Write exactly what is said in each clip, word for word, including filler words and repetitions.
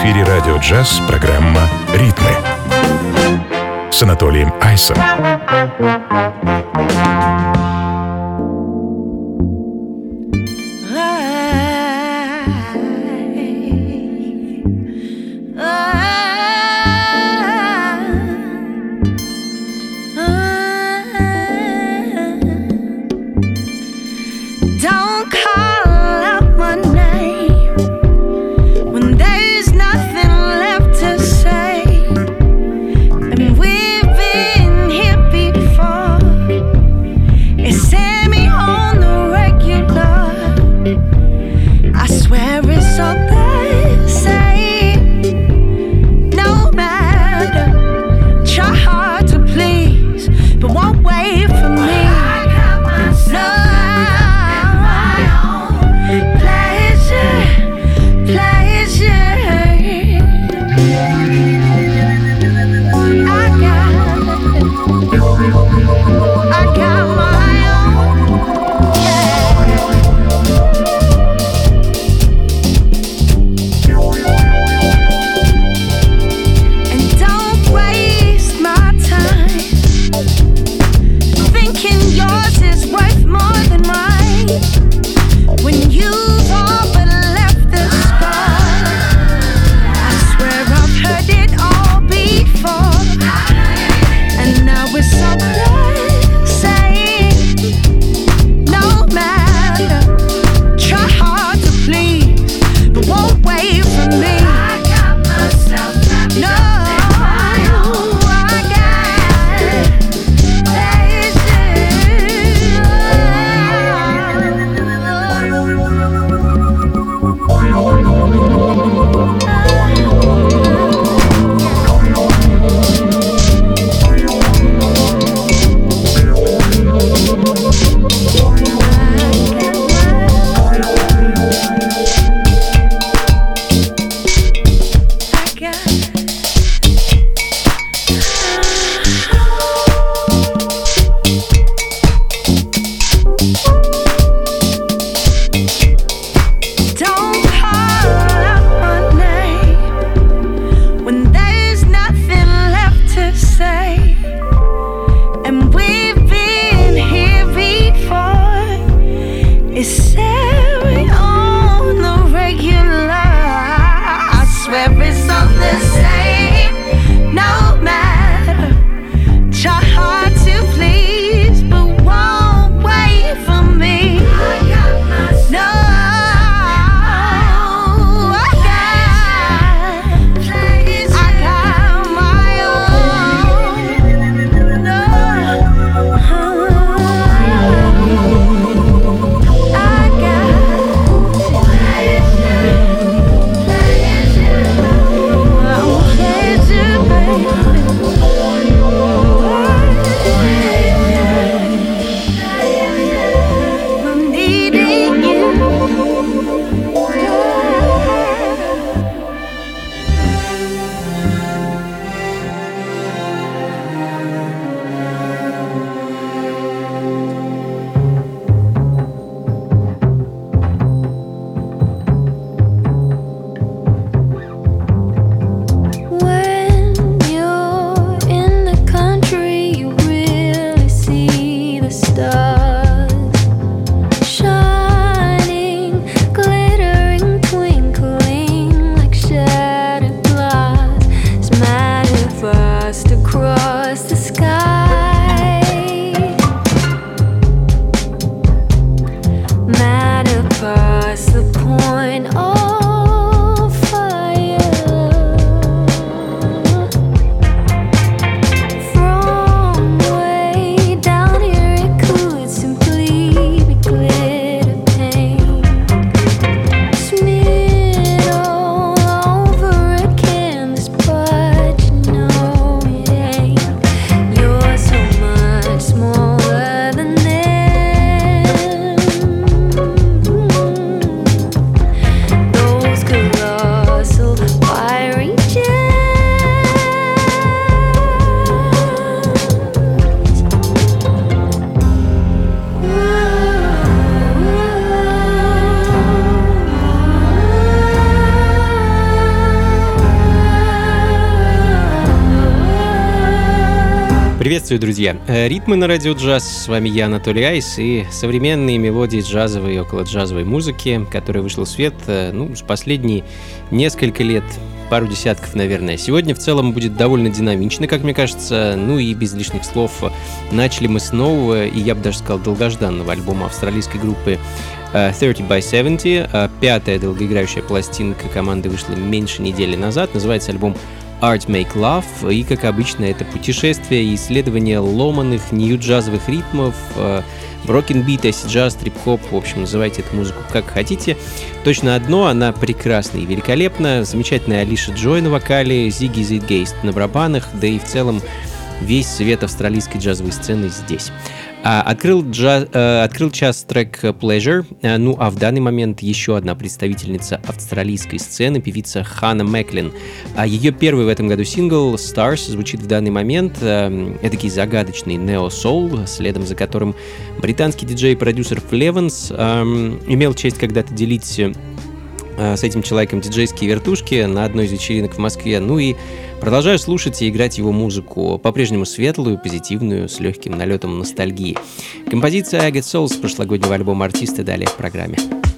эфире радио «Джаз» программа «Ритмы» с Анатолием Айсом. Приветствую, друзья! Ритмы на радио джаз. С вами я, Анатолий Айс, и современные мелодии джазовой и околоджазовой музыки, которая вышла в свет, ну, с последние несколько лет, пару десятков, наверное. Сегодня в целом будет довольно динамично, как мне кажется, ну и без лишних слов. Начали мы с нового, и я бы даже сказал, долгожданного альбома австралийской группы тридцать by семьдесят. Пятая долгоиграющая пластинка команды вышла меньше недели назад. Называется альбом Art Make Love, и, как обычно, это путешествие и исследование ломаных нью-джазовых ритмов, брокенбит, эйси-джаз, трип-хоп, в общем, называйте эту музыку как хотите. Точно одно, она прекрасна и великолепна, замечательная Алиша Джой на вокале, Зигги Зитгейст на барабанах, да и в целом весь свет австралийской джазовой сцены здесь. А, открыл, джаз, э, открыл час трек Pleasure, э, ну а в данный момент еще одна представительница австралийской сцены, певица Ханна Мэклин. А ее первый в этом году сингл Stars звучит в данный момент, э, эдакий загадочный нео-соул, следом за которым британский диджей и продюсер Флеванс э, имел честь когда-то делить э, с этим человеком диджейские вертушки на одной из вечеринок в Москве. Ну и продолжаю слушать и играть его музыку, по-прежнему светлую, позитивную, с легким налетом ностальгии. Композиция I Get Soul с прошлогоднего альбома артиста далее в программе.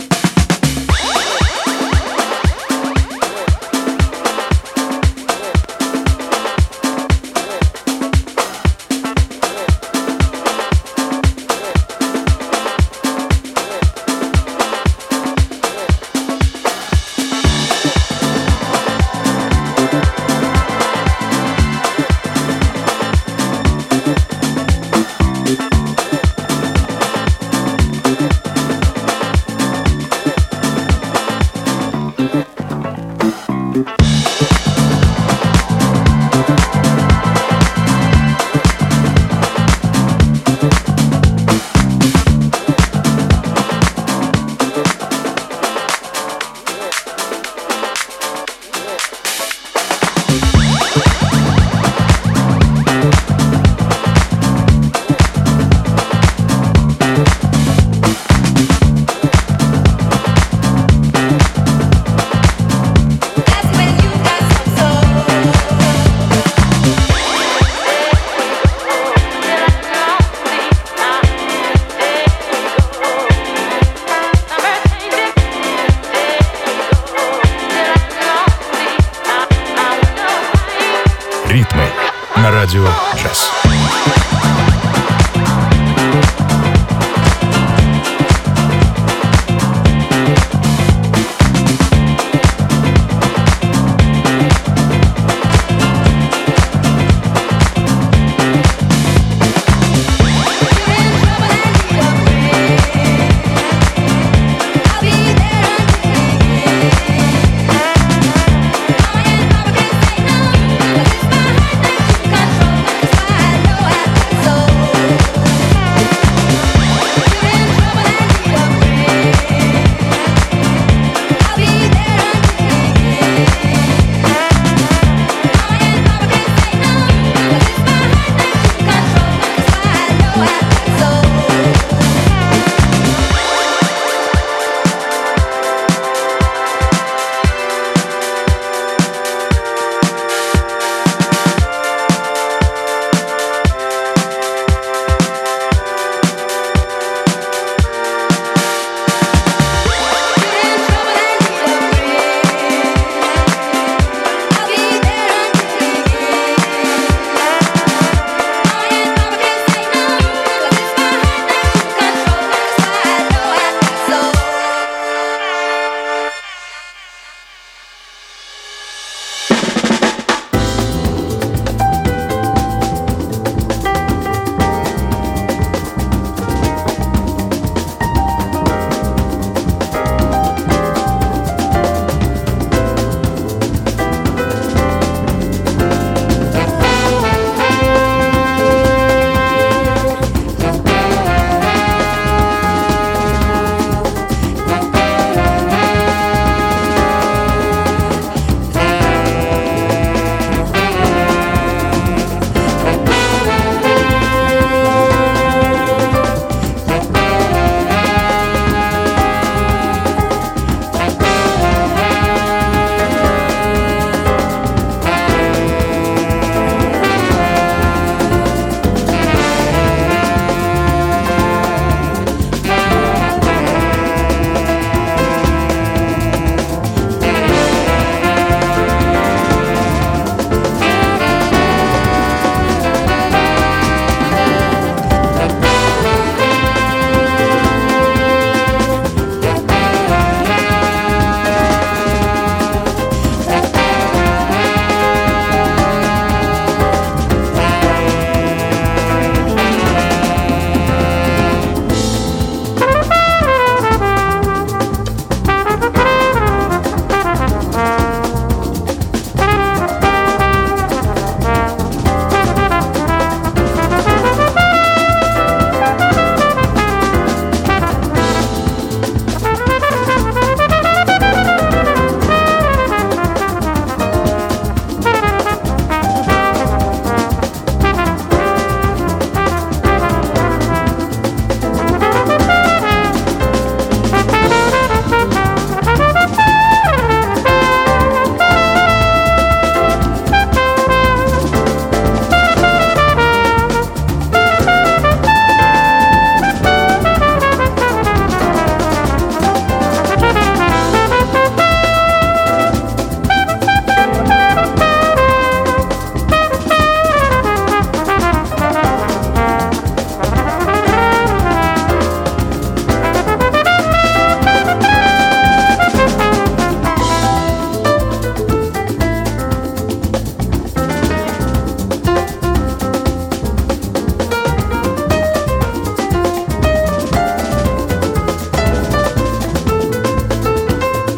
Ритмы на радио джаз. Control, 'cause I know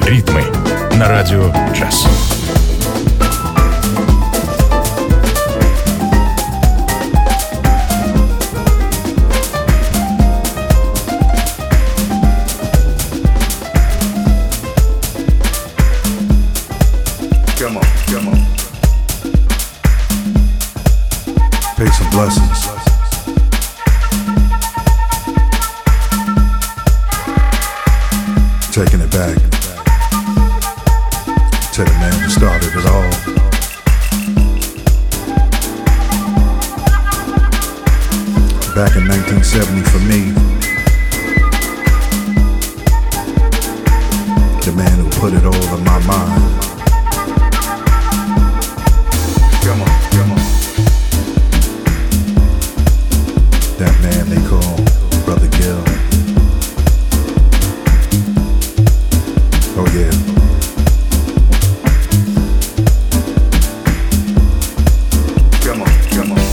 Ритмы на радио джаз. Come on, come on. Peace and blessings. Taking it back to the man who started it all. Back in nineteen seventy for me, the man who put it all in my mind. Come on, come on. That man they call Brother Gil. Oh yeah. Come on, come on.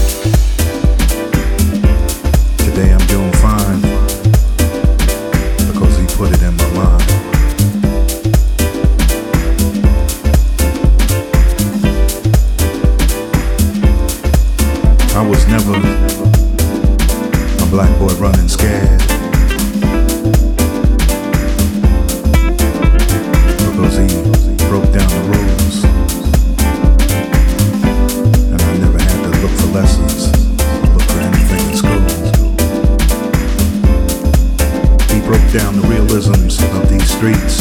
Today I'm doing fine because he put it in my mind. I was never a black boy running scared, because he broke down the rules, and I never had to look for lessons, look for anything in school. He broke down the realisms of these streets.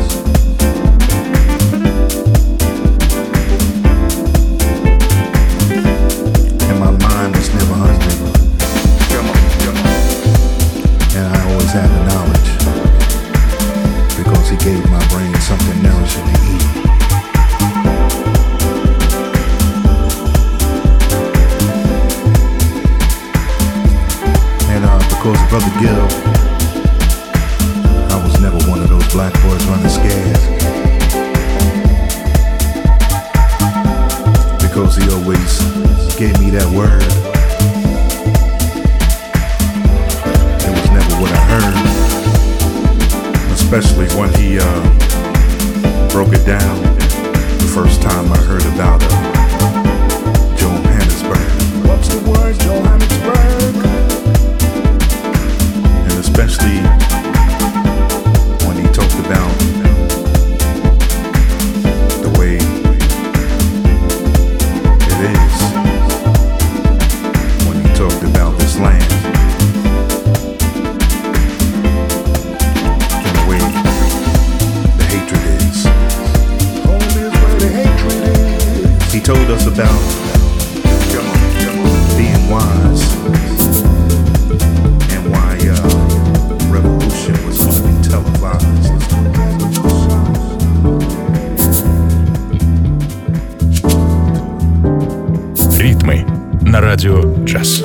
And my mind was never hungry. Come on, come on. And I always had the knowledge, because he gave my brain something nourishing to eat. And uh, because of Brother Gil, I was never one of those black boys running scared, because he always gave me that word. It was never what I heard, especially when he uh, broke it down the first time I heard about uh, Johannesburg. What's the word, Johannesburg? And especially when he talked about the way it is, when he talked about this land. He told us about come on, come on, being wise, and why uh, revolution was going to be televised. Ритмы на радио джаз.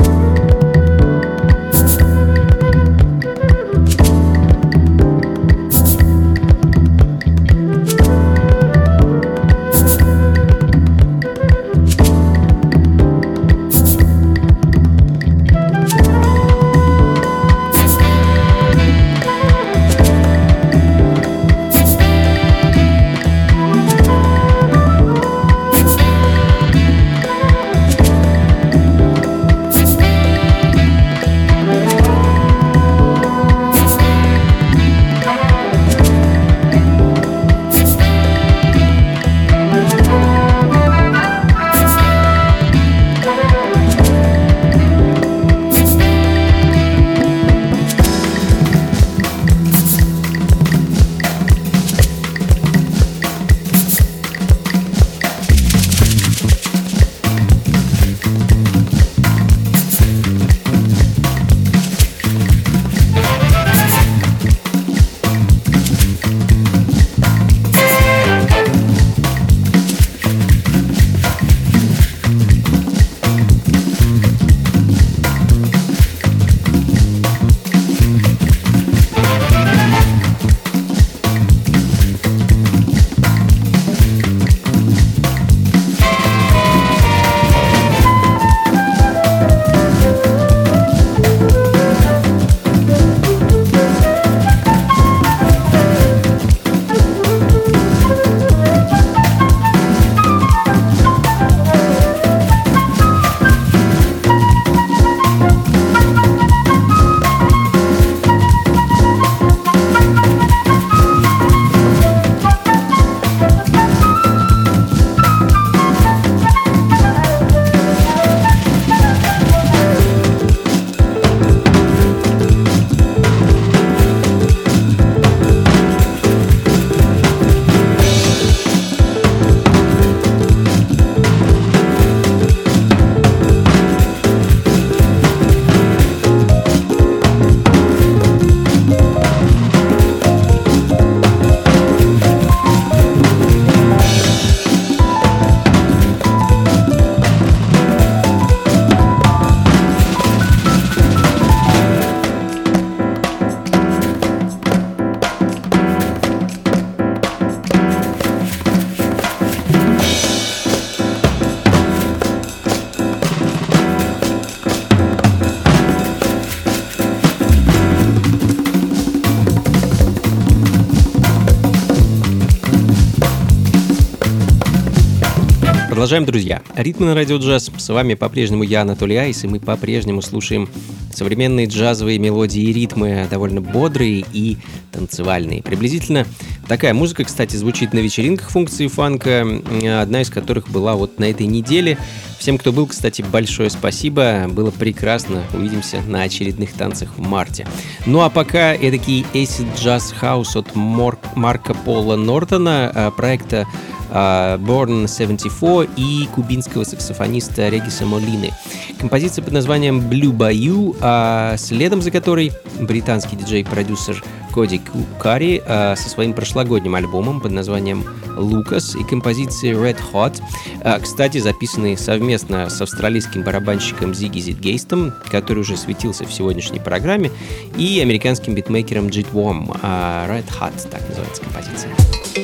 Продолжаем, друзья. Ритмы на радио джаз. С вами по-прежнему я, Анатолий Айс, и мы по-прежнему слушаем современные джазовые мелодии и ритмы, довольно бодрые и танцевальные. Приблизительно такая музыка, кстати, звучит на вечеринках функции фанка, одна из которых была вот на этой неделе. Всем, кто был, кстати, большое спасибо. Было прекрасно. Увидимся на очередных танцах в марте. Ну а пока эдакий acid jazz house от Марка Пола Нортона, проекта Born семьдесят четыре и кубинского саксофониста Региса Молины. Композиция под названием Blue Bayou, а следом за которой британский диджей-продюсер Коди Карри а, со своим прошлогодним альбомом под названием Lucas и композицией Red Hot, а, кстати, записанные совместно с австралийским барабанщиком Зигги Зитгейстом, который уже светился в сегодняшней программе, и американским битмейкером Джит Вом. а, Red Hot, так называется композиция.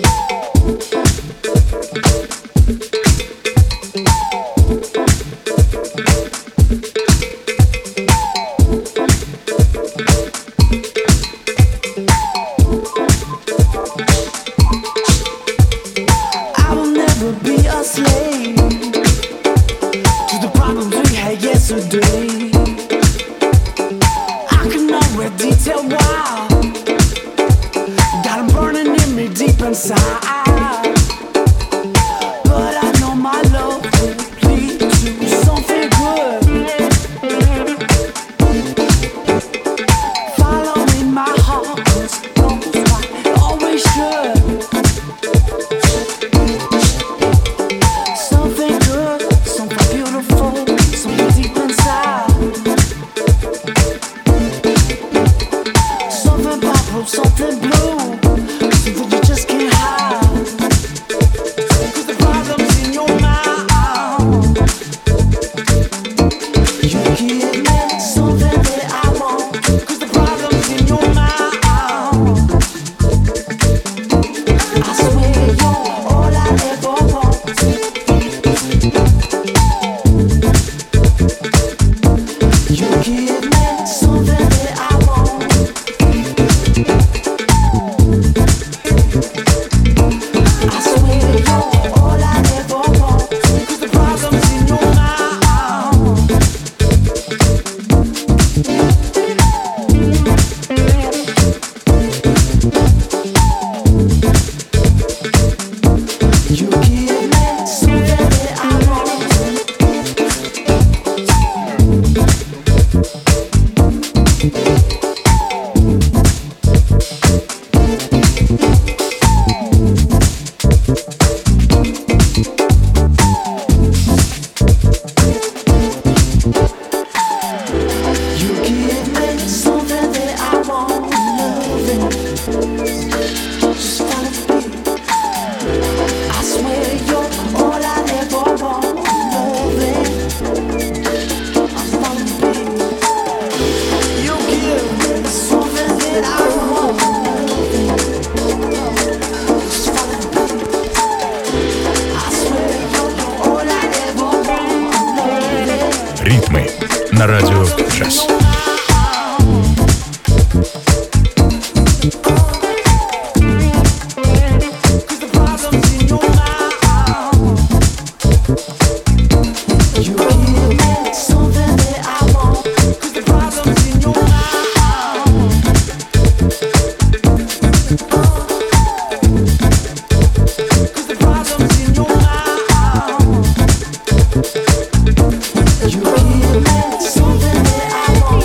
Ритмы на радио джаз. Something that I want.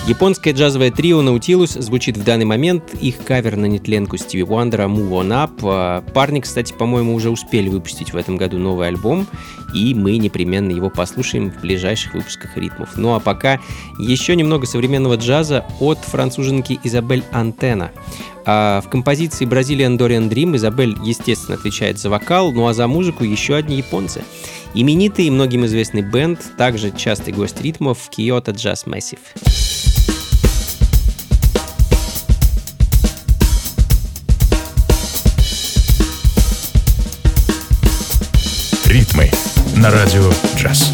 Японское джазовое трио Nautilus звучит в данный момент. Их кавер на нетленку Стиви Уандера «Move On Up». Парни, кстати, по-моему, уже успели выпустить в этом году новый альбом, и мы непременно его послушаем в ближайших выпусках «Ритмов». Ну а пока еще немного современного джаза от француженки Изабель Антена. А в композиции Brazilian Dorian Dream Изабель, естественно, отвечает за вокал, ну а за музыку еще одни японцы. Именитый и многим известный бенд, также частый гость ритмов Kyoto Jazz Massive. Ритмы на радио «Джаз».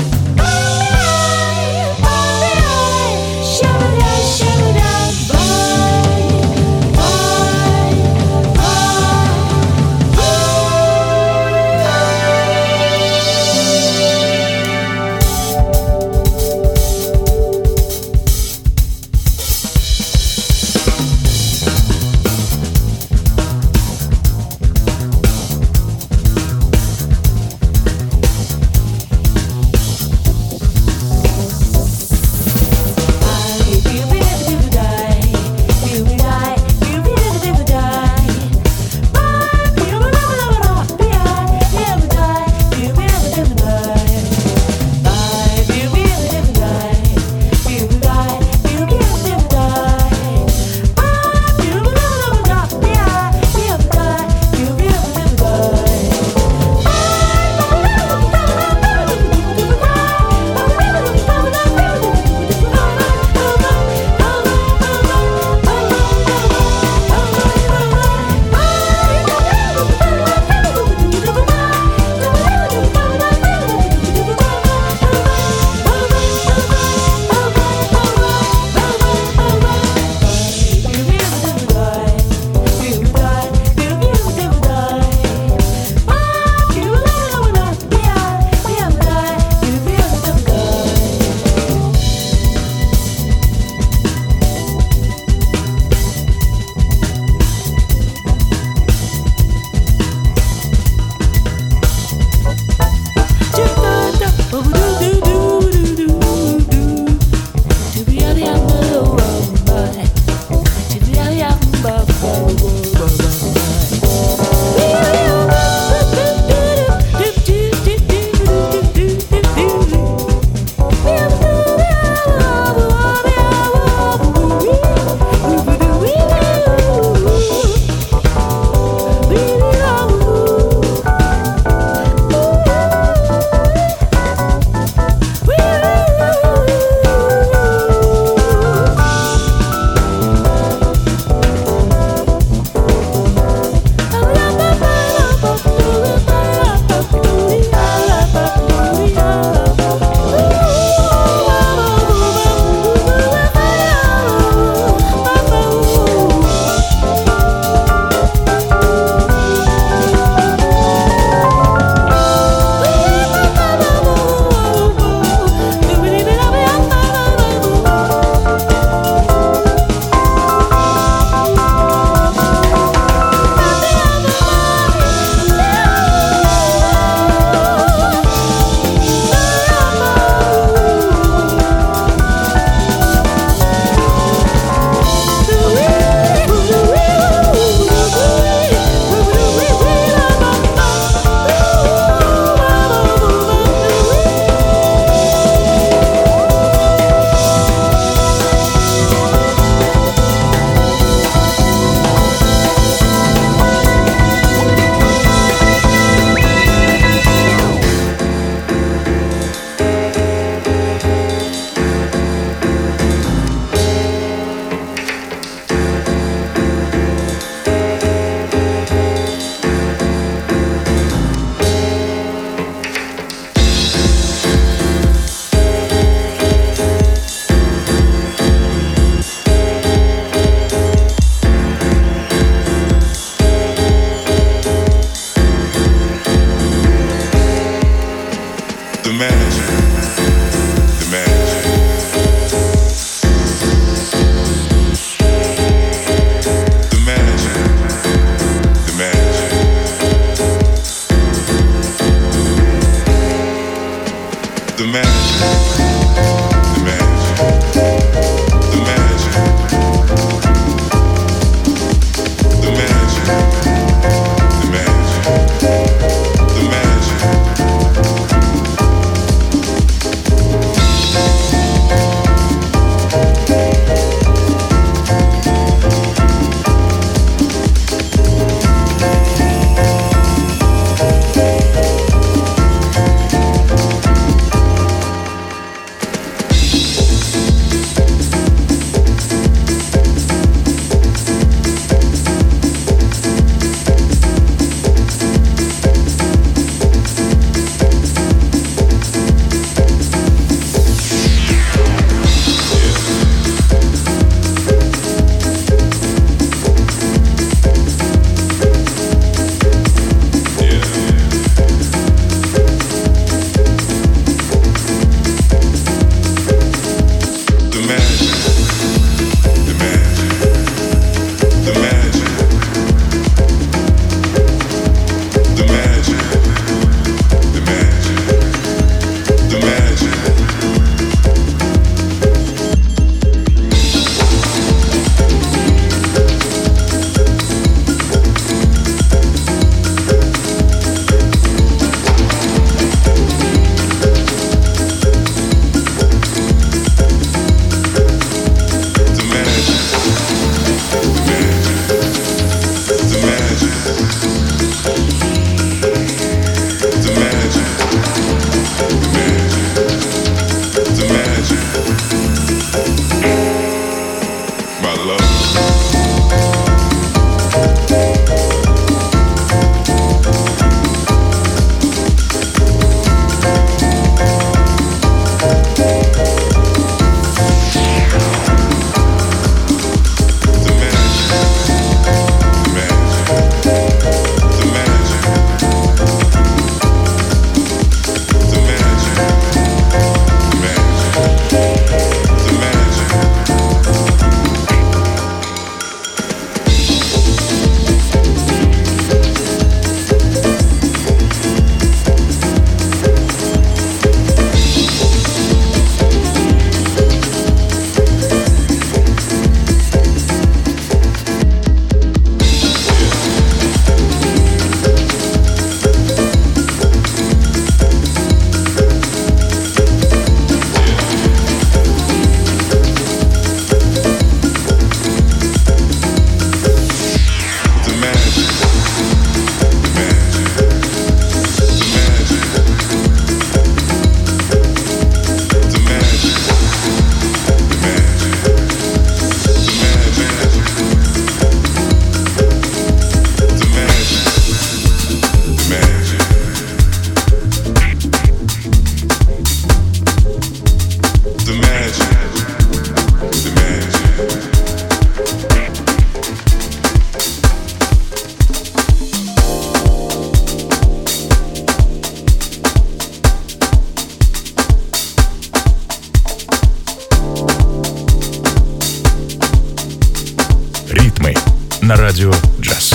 на радио «Джаз».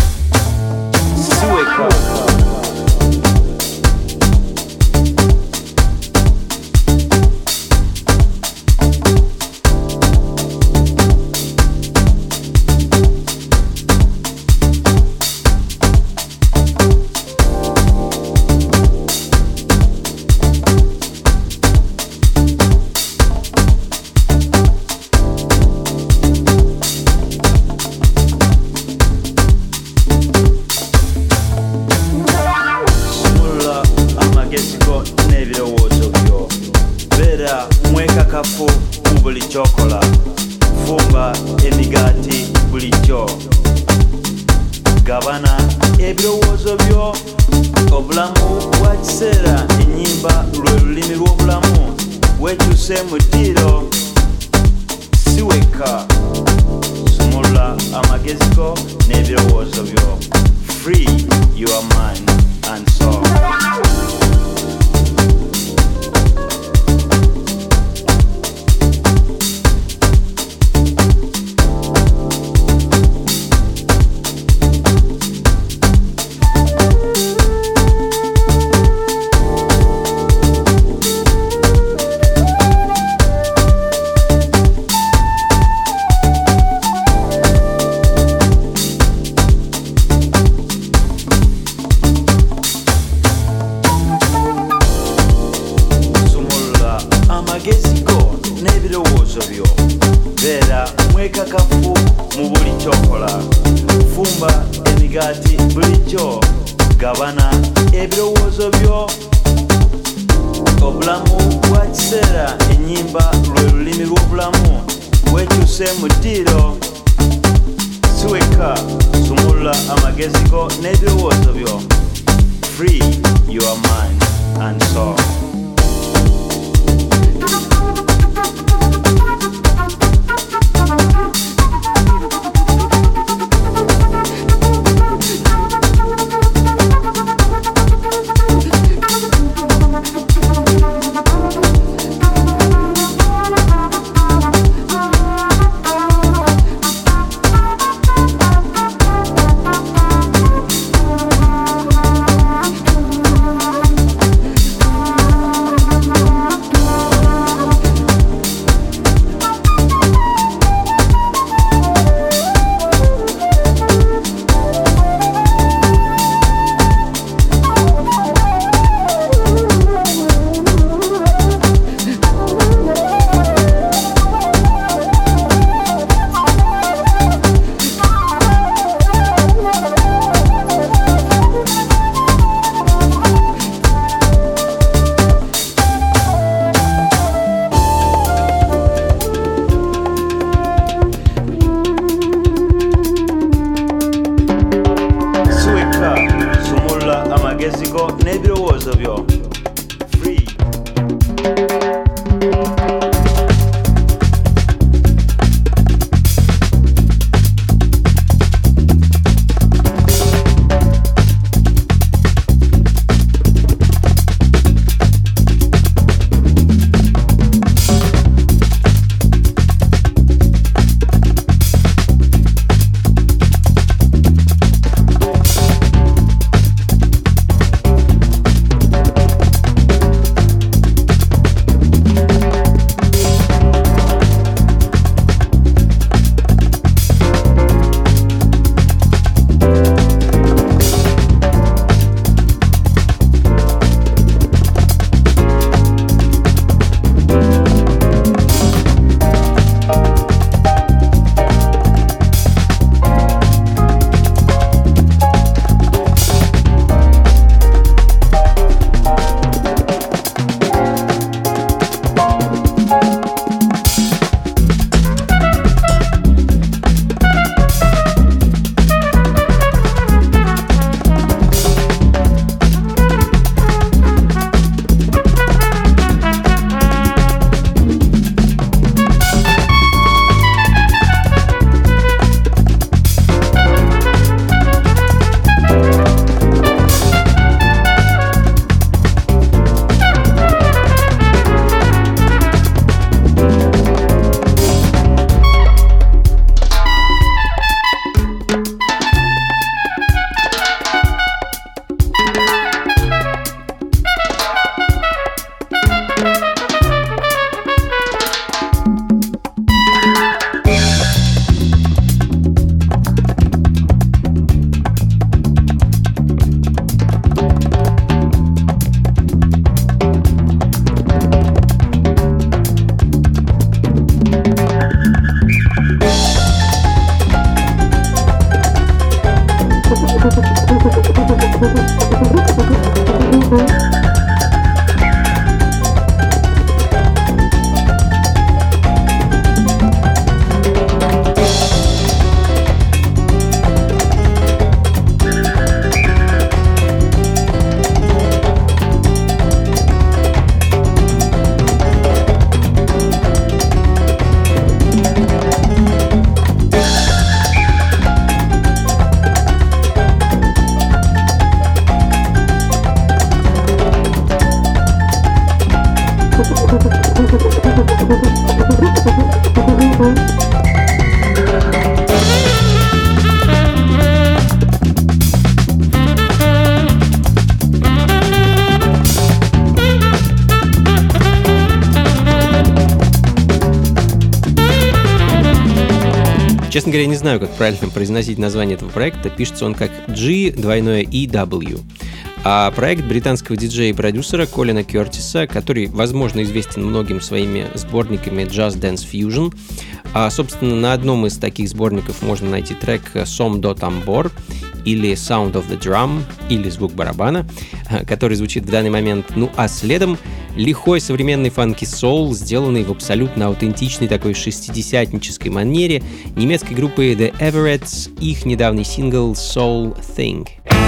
Честно говоря, не знаю, как правильно произносить название этого проекта. Пишется он как G, двойное E, W. А проект британского диджея и продюсера Колина Кертиса, который, возможно, известен многим своими сборниками Jazz Dance Fusion. А, собственно, на одном из таких сборников можно найти трек Som do Tambor или Sound of the Drum, или звук барабана, который звучит в данный момент. Ну а следом лихой современный фанки-соул, сделанный в абсолютно аутентичной такой шестидесятнической манере немецкой группы The Everettes, их недавний сингл Soul Thing.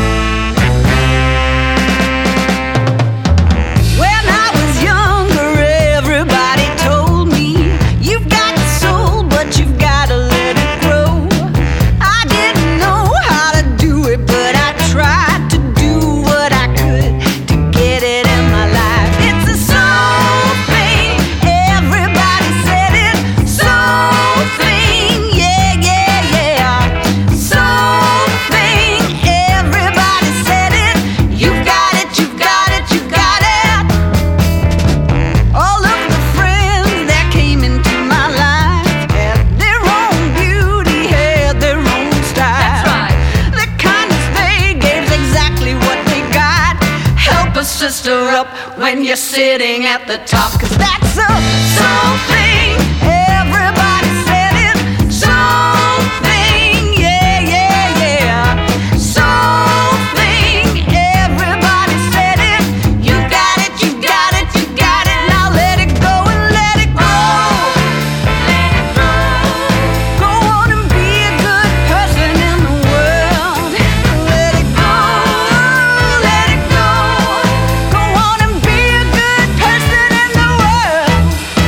When you're sitting at the top, 'cause that's a soul thing. Everybody said it. Soul thing, yeah, yeah, yeah. Soul thing. Everybody said it. You got it, you got it, you got it. Now let it go and let it go. Let it go. Go on and be a good person in the world. Let it go. Let it go. Go on and be a good person in the world.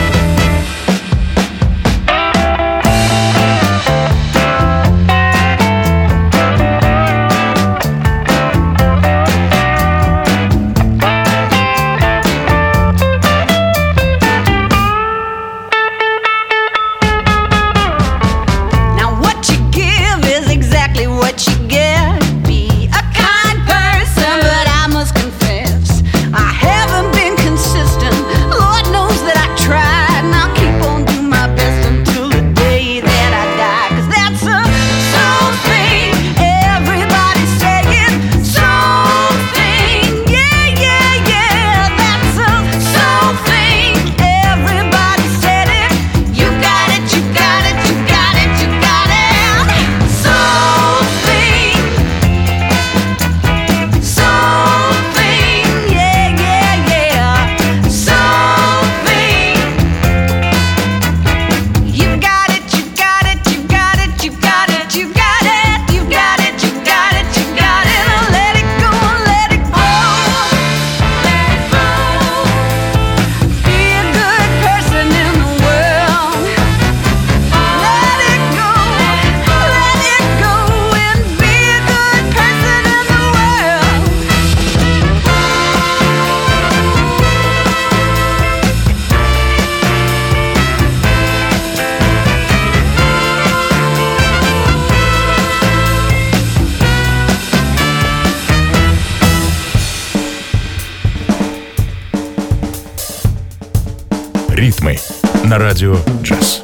Now what you give is exactly what you get. Be a kind person, but I must confess I haven't been consistent. Lord knows that I tried, and I'll keep on doing my best until the day that I die. 'Cause that's a soul thing. Everybody say it. Soul thing. Yeah, yeah, yeah. That's a soul thing. Everybody said it. You got it, you got it, you got it, you got it. Soul thing. Soul thing. Yeah, yeah, yeah. Soul thing. You got it, you got it, you got it, you got it, you got it, you got it, you got it, you got it. Now let it go, let it go. Let it go. Be a good person in the world. Let it go, let it go, and be a good person in the world. Ритмы на радио «Джаз».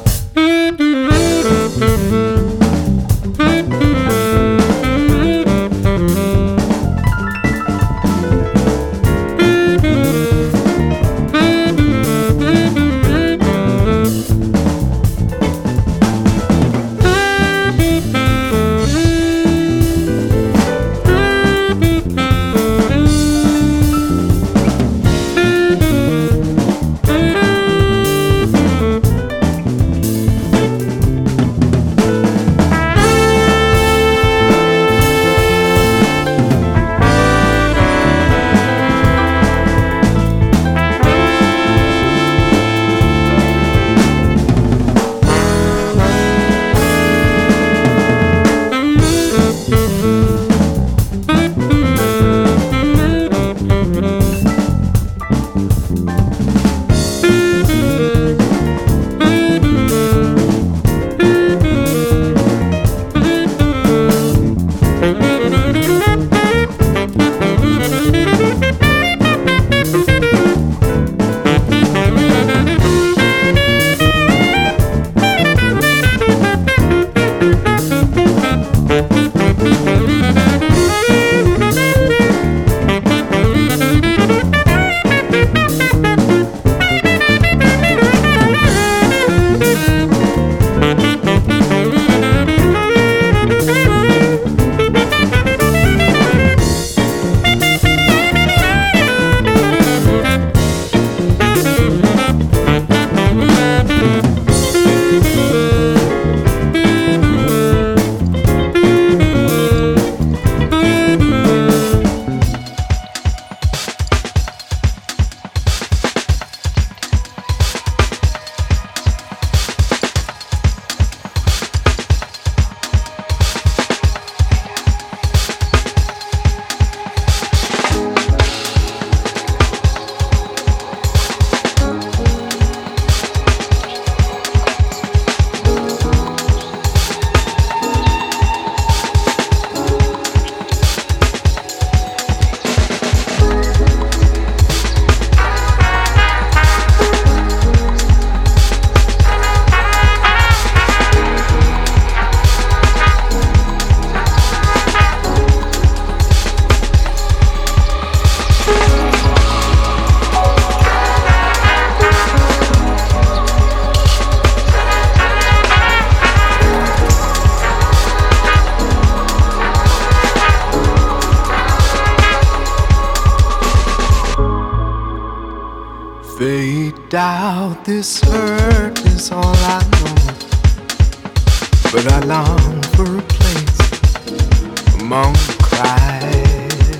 doubt, this hurt is all I know. But I long for a place among cries.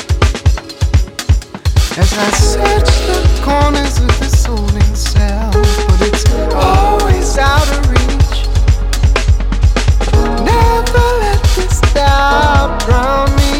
As I search the corners of this soul self, but it's always out of reach. Never let this doubt drown me.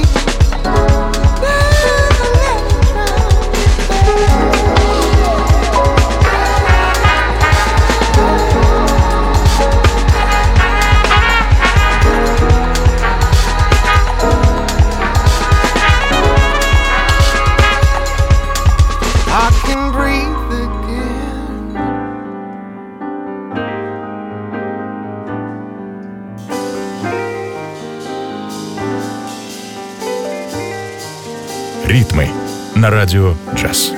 Ритмы на радио «Джаз».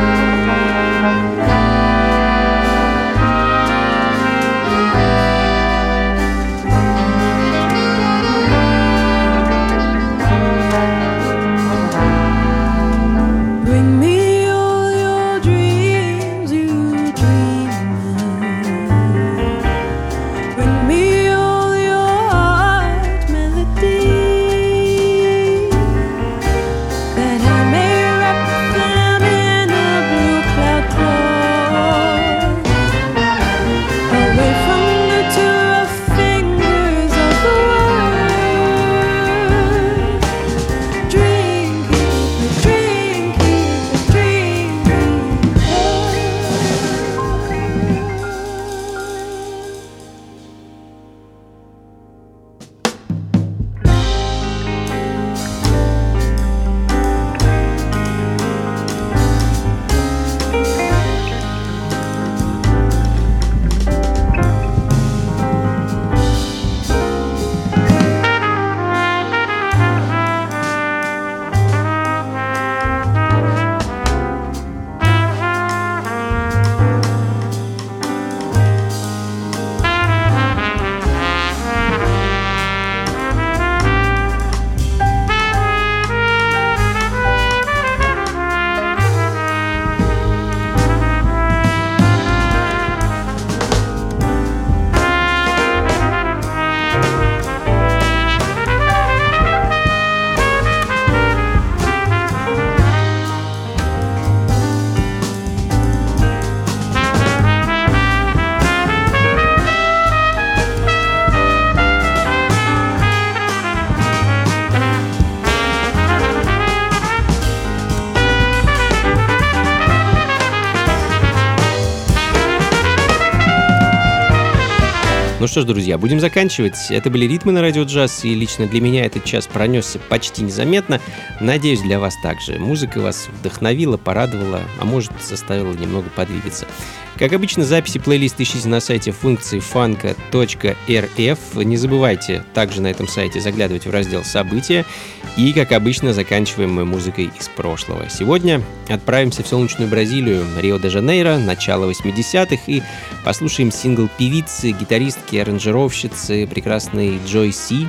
Ну что ж, друзья, будем заканчивать. Это были «Ритмы на радио джаз», и лично для меня этот час пронесся почти незаметно. Надеюсь, для вас также. Музыка вас вдохновила, порадовала, а может, заставила немного подвигаться. Как обычно, записи плейлиста ищите на сайте функции фанка точка эр эф. Не забывайте также на этом сайте заглядывать в раздел «События». И, как обычно, заканчиваем мы музыкой из прошлого. Сегодня отправимся в солнечную Бразилию, Рио-де-Жанейро, начало восьмидесятых, и послушаем сингл певицы, гитаристки, аранжировщицы прекрасной Джой Си.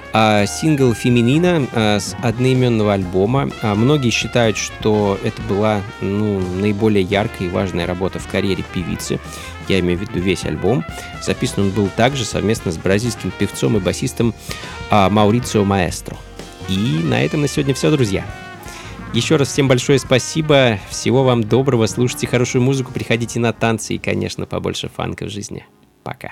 А сингл «Феминина» а, с одноименного альбома. А, многие считают, что это была ну, наиболее яркая и важная работа в карьере певицы. Я имею в виду весь альбом. Записан он был также совместно с бразильским певцом и басистом а, Маурицио Маэстро. И на этом на сегодня все, друзья. Еще раз всем большое спасибо. Всего вам доброго. Слушайте хорошую музыку, приходите на танцы и, конечно, побольше фанка в жизни. Пока.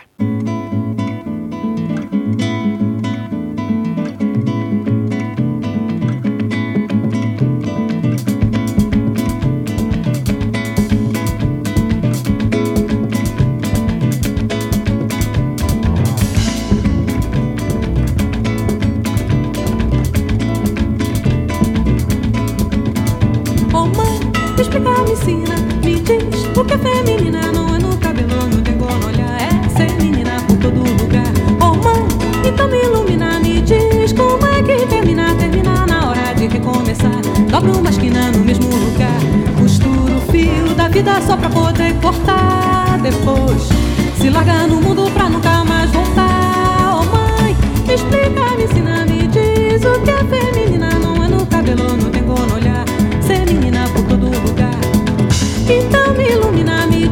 Só pra poder cortar depois, se largar no mundo pra nunca mais voltar. Oh mãe, me explica, me ensina, me diz o que é feminina. Não é no cabelo, não tem cor no olhar, ser menina por todo lugar. Então me ilumina, me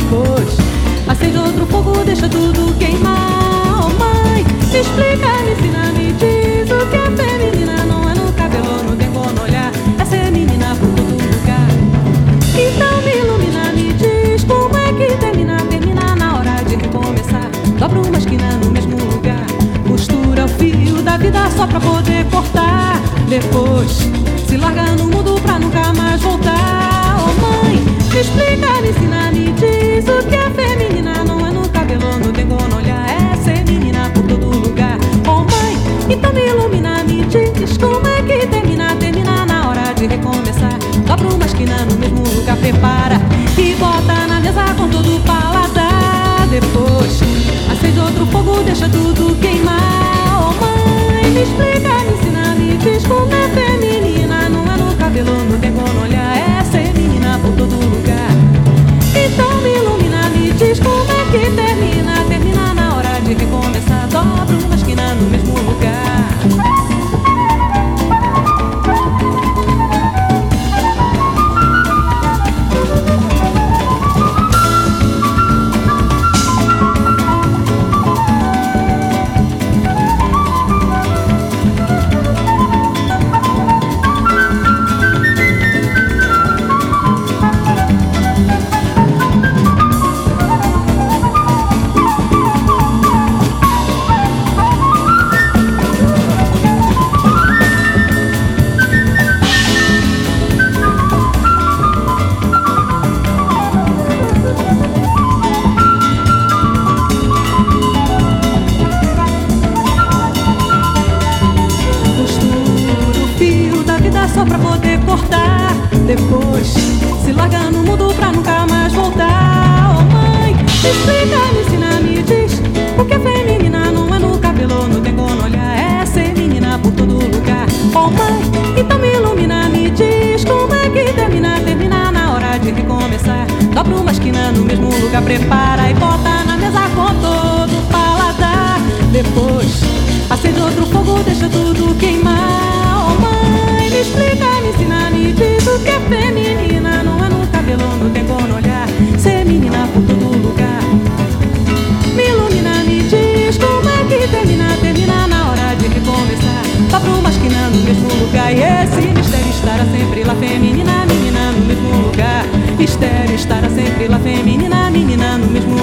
Depois acende outro fogo, deixa tudo queimar. Oh mãe, me explica, me ensina, me diz o que é feminina. Não é no cabelo, no tempo, no olhar, é ser menina por todo lugar. Então me ilumina, me diz como é que termina. Termina na hora de recomeçar, dobra uma esquina no mesmo lugar, costura o fio da vida só pra poder cortar. Depois se larga no mundo pra nunca mais voltar. Oh mãe, me explica, me ensina, me diz o que é feminina. Não é no cabelo, no tempo, no olhar, é ser menina por todo lugar. Oh mãe, então me ilumina, me diz como é que termina. Termina na hora de recomeçar, dobra uma esquina no mesmo lugar, prepara e bota na mesa com todo o paladar. Depois acende outro fogo, deixa tudo queimar. Oh mãe, me explica, me ensina, me diz como é feminina. Não é no cabelo, no tempo, no olhar, é ser menina por todo lugar. Então me ilumina, me diz como é que termina. Termina na hora de recomeçar, dobra uma esquina no mesmo lugar. Só pra poder cortar. Depois se larga no mundo pra nunca mais voltar. Oh mãe, me explica, me ensina, me diz o que é feminina. Não é no cabelo, no tempo, no olhar, é ser menina por todo lugar. Oh mãe, então me ilumina, me diz como é que termina. Termina na hora de recomeçar, dobra uma esquina no mesmo lugar, prepara e bota na mesa com todo o paladar. Depois acende outro fogo, deixa tudo queimar. Oh mãe, me explica, me ensina, me diz o que é feminina. Não é no cabelo, no tempo, no olhar, ser menina por todo lugar. Me ilumina, me diz como é que termina. Termina na hora de recomeçar, dobra uma esquina no mesmo lugar. E esse mistério estará sempre lá, feminina, menina no mesmo lugar. Mistério estará sempre lá, feminina, menina no mesmo